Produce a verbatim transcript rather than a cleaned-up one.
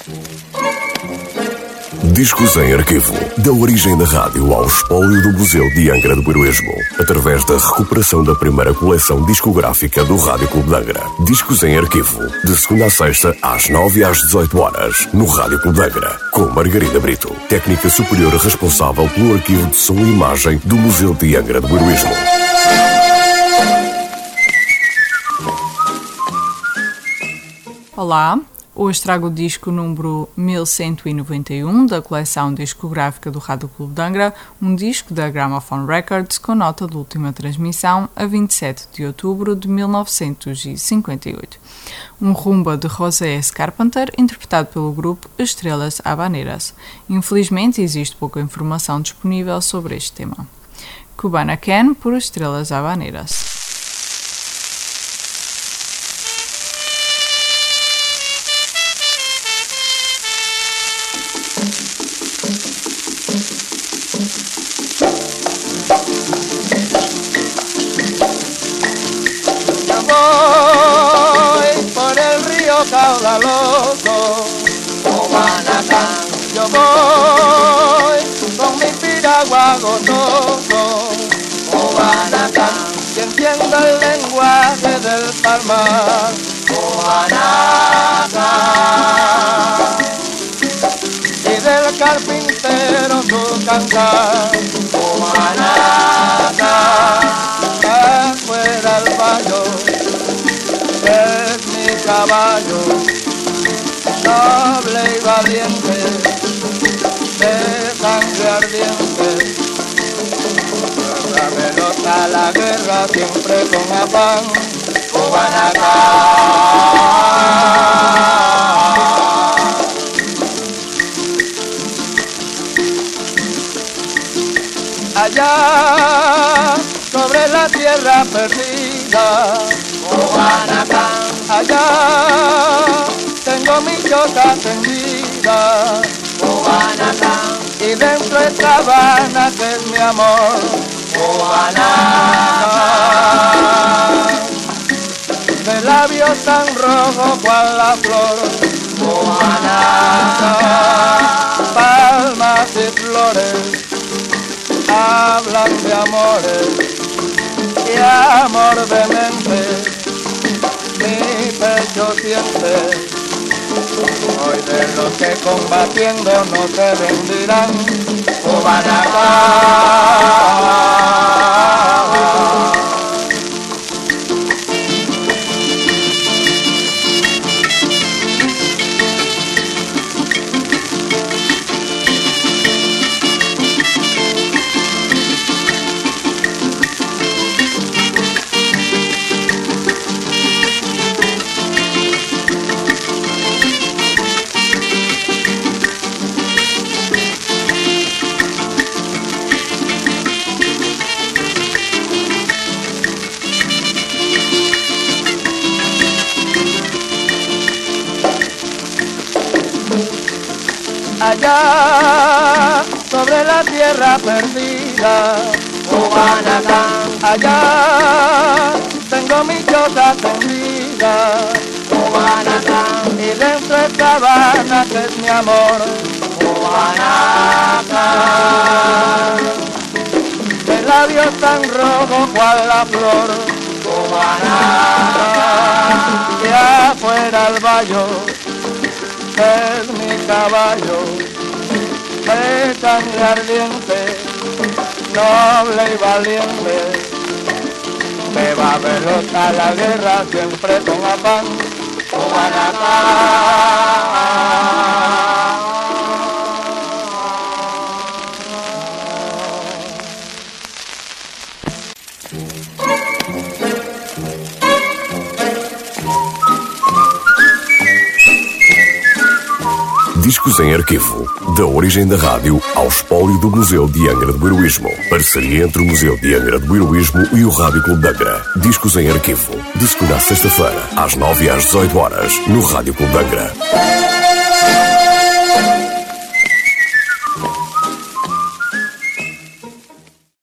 Discos em arquivo. Da origem da rádio ao espólio do Museu de Angra do Heroísmo, através da recuperação da primeira coleção discográfica do Rádio Clube de Angra. Discos em arquivo. De segunda a sexta, às nove e às dezoito horas, no Rádio Clube de Angra, com Margarida Brito, técnica superior responsável pelo arquivo de som e imagem do Museu de Angra do Heroísmo. Olá, hoje trago o disco número mil cento e noventa e um da coleção discográfica do Rádio Clube de Angra, um disco da Gramophone Records com nota de última transmissão a vinte e sete de outubro de mil novecentos e cinquenta e oito. Um rumba de José S. Carpenter, interpretado pelo grupo Estrelas Habaneras. Infelizmente existe pouca informação disponível sobre este tema. Cubana Can por Estrelas Habaneras. Caudaloso, Guanacan, yo voy con mi piragua gozoso, Guanacan, y entiendo el lenguaje del palmar, Guanacan, y del carpintero su cantar, Guanacan, afuera el baño es mi caballo, noble y valiente, de sangre ardiente. La pelota, la guerra, siempre con afán, Guanacan. Allá, sobre la tierra perdida, Guanacan, allá tengo mi choza tendida, Guanacan, y dentro esta Habana que es mi amor, Guanacan, de labios tan rojos cual la flor, Guanacan, palmas y flores hablan de amores y amor vehemente mi pecho siente. Hoy de los que combatiendo no se rendirán, Guanacan. Allá sobre la tierra perdida, Guanacan, allá tengo mi choza tendida, Guanacan, y dentro esta Habana que es mi amor, Guanacan, de labios tan rojos cual la flor, Guanacan, y afuera el vallo es mi caballo, de sangre ardiente, noble y valiente, me va a velotar la guerra siempre con afán, Guanacan. Discos em arquivo. Da origem da rádio ao espólio do Museu de Angra do Heroísmo. Parceria entre o Museu de Angra do Heroísmo e o Rádio Clube de Angra. Discos em arquivo. De segunda a sexta-feira, às nove e às dezoito horas, no Rádio Clube de Angra.